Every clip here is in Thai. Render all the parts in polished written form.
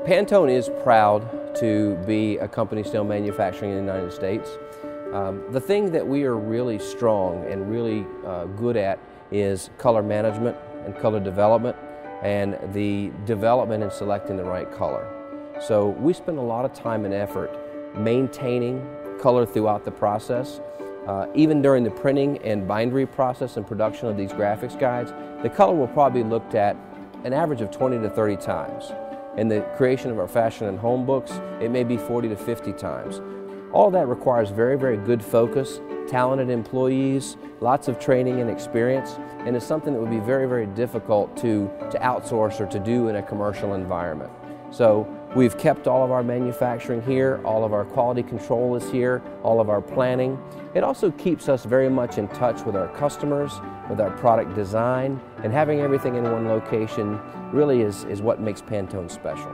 Pantone is proud to be a company still manufacturing in the United States. The thing that we are really strong and really good at is color management and color development and the development and selecting the right color. So we spend a lot of time and effort maintaining color throughout the process. Even during the printing and bindery process and production of these graphics guides, the color will probably be looked at an average of 20 to 30 times. In the creation of our fashion and home books, it may be 40 to 50 times. All that requires very, very good focus, talented employees, lots of training and experience, and is something that would be very, very difficult to outsource or to do in a commercial environment. So we've kept all of our manufacturing here, all of our quality control is here, all of our planning. It also keeps us very much in touch with our customers, with our product design, and having everything in one location really is what makes Pantone special.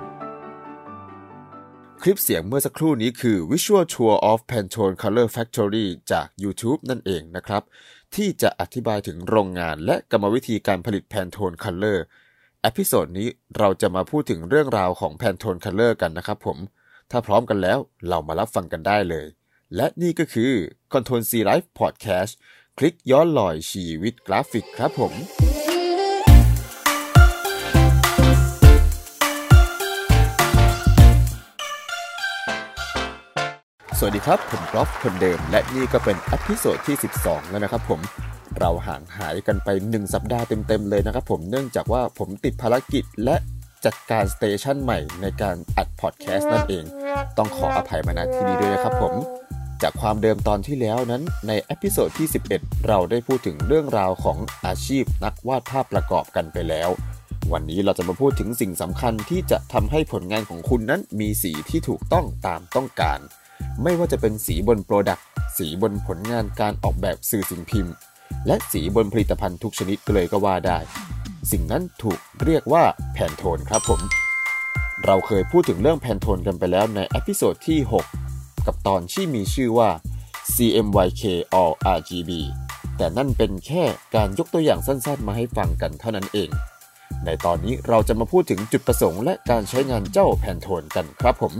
คลิปเสียงเมื่อสักครู่นี้คือ Visual Tour of Pantone Color Factory จาก YouTube นั่นเองนะครับที่จะอธิบายถึงโรงงานและกรรมวิธีการผลิต Pantone Color เอพิโซดนี้เราจะมาพูดถึงเรื่องราวของ Pantone Color กันนะครับผมถ้าพร้อมกันแล้วเรามารับฟังกันได้เลยและนี่ก็คือ Control C Live Podcast คลิกย้อนลอยชีวิตกราฟิกครับผมสวัสดีครับผมกรอฟคนเดิมและนี่ก็เป็นเอพิโซดที่12แล้วนะครับผมเราห่างหายกันไป1สัปดาห์เต็มๆเลยนะครับผมเนื่องจากว่าผมติดภารกิจและจัดการสเตชันใหม่ในการอัดพอดแคสต์นั่นเองต้องขออภัยมาณที่นี้ด้วยนะครับผมจากความเดิมตอนที่แล้วนั้นในเอพิโซดที่11เราได้พูดถึงเรื่องราวของอาชีพนักวาดภาพประกอบกันไปแล้ววันนี้เราจะมาพูดถึงสิ่งสำคัญที่จะทำให้ผลงานของคุณนั้นมีสีที่ถูกต้องตามต้องการไม่ว่าจะเป็นสีบนโปรดักต์สีบนผลงานการออกแบบสื่อสิ่งพิมพ์และสีบนผลิตภัณฑ์ทุกชนิดเลยก็ว่าได้สิ่งนั้นถูกเรียกว่าแพนโทนครับผมเราเคยพูดถึงเรื่องแพนโทนกันไปแล้วในเอพิโซดที่6กับตอนที่มีชื่อว่า CMYK All RGB แต่นั่นเป็นแค่การยกตัวอย่างสั้นๆมาให้ฟังกันเท่านั้นเองในตอนนี้เราจะมาพูดถึงจุดประสงค์และการใช้งานเจ้าแพนโทนกันครับผม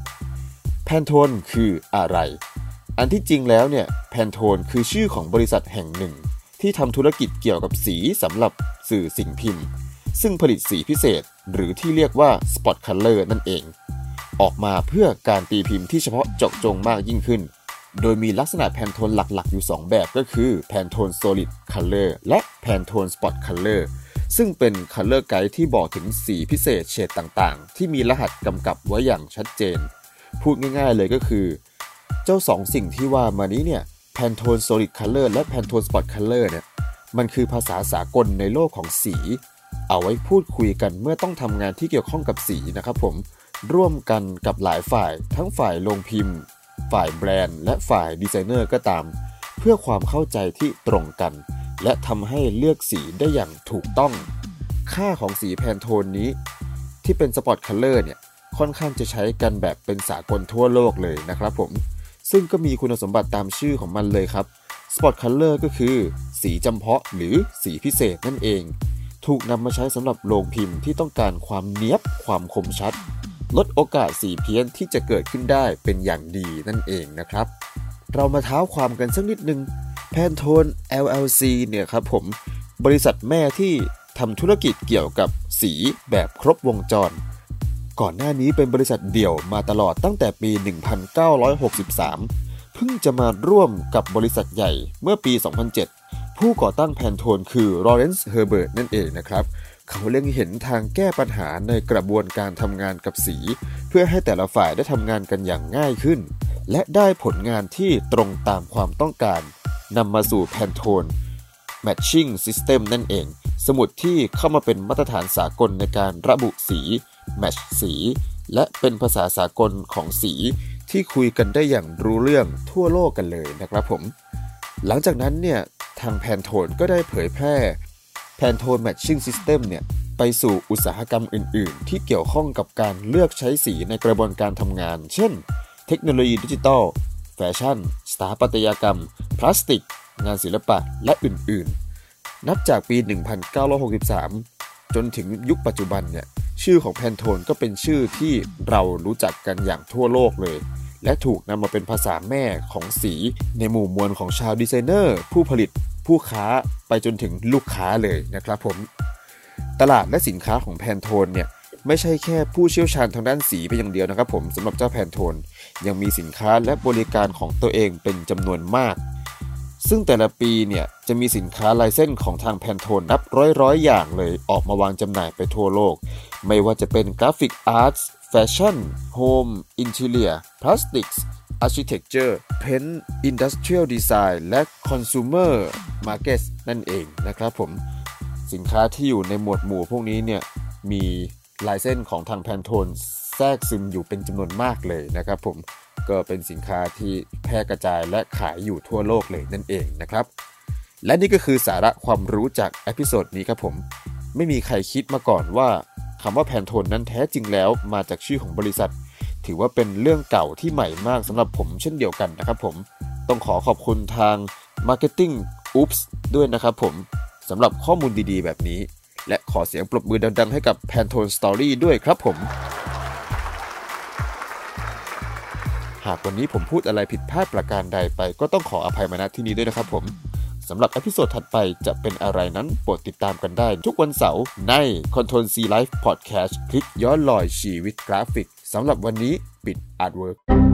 Pantone คืออะไรอันที่จริงแล้วเนี่ย Pantone คือชื่อของบริษัทแห่งหนึ่งที่ทำธุรกิจเกี่ยวกับสีสำหรับสื่อสิ่งพิมพ์ซึ่งผลิตสีพิเศษหรือที่เรียกว่า Spot Color นั่นเองออกมาเพื่อการตีพิมพ์ที่เฉพาะเจาะจงมากยิ่งขึ้นโดยมีลักษณะ Pantone หลักๆอยู่2แบบก็คือ Pantone Solid Color และ Pantone Spot Color ซึ่งเป็น Color Guide ที่บอกถึงสีพิเศษเฉดต่างๆที่มีรหัสกำกับไว้อย่างชัดเจนพูดง่ายๆเลยก็คือเจ้า2สิ่งที่ว่ามานี้เนี่ย Pantone Solid Color และ Pantone Spot Color เนี่ยมันคือภาษาสากลในโลกของสีเอาไว้พูดคุยกันเมื่อต้องทำงานที่เกี่ยวข้องกับสีนะครับผมร่วมกันกับหลายฝ่ายทั้งฝ่ายโรงพิมพ์ฝ่ายแบรนด์และฝ่ายดีไซเนอร์ก็ตามเพื่อความเข้าใจที่ตรงกันและทำให้เลือกสีได้อย่างถูกต้องค่าของสี Pantone นี้ที่เป็น Spot Color เนี่ยค่อนข้างจะใช้กันแบบเป็นสากลทั่วโลกเลยนะครับผมซึ่งก็มีคุณสมบัติตามชื่อของมันเลยครับ Spot Color ก็คือสีจำเพาะหรือสีพิเศษนั่นเองถูกนำมาใช้สำหรับโรงพิมพ์ที่ต้องการความเนี๊ยบความคมชัดลดโอกาสสีเพี้ยนที่จะเกิดขึ้นได้เป็นอย่างดีนั่นเองนะครับเรามาเท้าความกันสักนิดนึง Pantone LLC เนี่ยครับผมบริษัทแม่ที่ทำธุรกิจเกี่ยวกับสีแบบครบวงจรก่อนหน้านี้เป็นบริษัทเดี่ยวมาตลอดตั้งแต่ปี 1963 เพิ่งจะมาร่วมกับบริษัทใหญ่เมื่อปี 2007 ผู้ก่อตั้ง Pantone คือ Lawrence Herbert นั่นเองนะครับเขาเล็งเห็นทางแก้ปัญหาในกระบวนการทำงานกับสีเพื่อให้แต่ละฝ่ายได้ทำงานกันอย่างง่ายขึ้นและได้ผลงานที่ตรงตามความต้องการนำมาสู่ Pantone Matching System นั่นเองสมุดที่เข้ามาเป็นมาตรฐานสากลในการระบุสีแมทช์สีและเป็นภาษาสากลของสีที่คุยกันได้อย่างรู้เรื่องทั่วโลกกันเลยนะครับผมหลังจากนั้นเนี่ยทาง Pantone ก็ได้เผยแพร่ Pantone Matching System เนี่ยไปสู่อุตสาหกรรมอื่นๆที่เกี่ยวข้องกับการเลือกใช้สีในกระบวนการทำงานเช่นเทคโนโลยีดิจิทัลแฟชั่นสถาปัตยกรรมพลาสติกงานศิลปะและอื่นๆนับจากปี 1963 จนถึงยุคปัจจุบันเนี่ยชื่อของแพนโทนก็เป็นชื่อที่เรารู้จักกันอย่างทั่วโลกเลยและถูกนำมาเป็นภาษาแม่ของสีในหมู่มวลของชาวดีไซเนอร์ผู้ผลิตผู้ค้าไปจนถึงลูกค้าเลยนะครับผมตลาดและสินค้าของแพนโทนเนี่ยไม่ใช่แค่ผู้เชี่ยวชาญทางด้านสีไปอย่างเดียวนะครับผมสำหรับเจ้าแพนโทนยังมีสินค้าและบริการของตัวเองเป็นจำนวนมากซึ่งแต่ละปีเนี่ยจะมีสินค้าลายเส้นของทางแพนโทนนับร้อยอย่างเลยออกมาวางจำหน่ายไปทั่วโลกไม่ว่าจะเป็นกราฟิกอาร์ตแฟชั่นโฮมอินทีเรียพลาสติกส์อาร์คิเทคเจอร์เพนท์อินดัสเทรียลดีไซน์และคอน sumer market นั่นเองนะครับผมสินค้าที่อยู่ในหมวดหมู่พวกนี้เนี่ยมีลายเส้นของทางแพนโทนแทรกซึมอยู่เป็นจำนวนมากเลยนะครับผมก็เป็นสินค้าที่แพร่กระจายและขายอยู่ทั่วโลกเลยนั่นเองนะครับและนี่ก็คือสาระความรู้จากเอพิโซดนี้ครับผมไม่มีใครคิดมาก่อนว่าคำว่าแพนโทนนั้นแท้จริงแล้วมาจากชื่อของบริษัทถือว่าเป็นเรื่องเก่าที่ใหม่มากสำหรับผมเช่นเดียวกันนะครับผมต้องขอบคุณทาง Marketing Oops ด้วยนะครับผมสำหรับข้อมูลดีๆแบบนี้และขอเสียงปรบมือดังๆให้กับ Pantone Story ด้วยครับผมหากวันนี้ผมพูดอะไรผิดพลาดประการใดไปก็ต้องขออภัยมาณที่นี้ด้วยนะครับผมสำหรับเอพิโซดถัดไปจะเป็นอะไรนั้นโปรดติดตามกันได้ทุกวันเสาร์ใน Control C Life Podcast คลิปย้อนรอยชีวิตกราฟิกสำหรับวันนี้ปิดอาร์ตเวิร์ก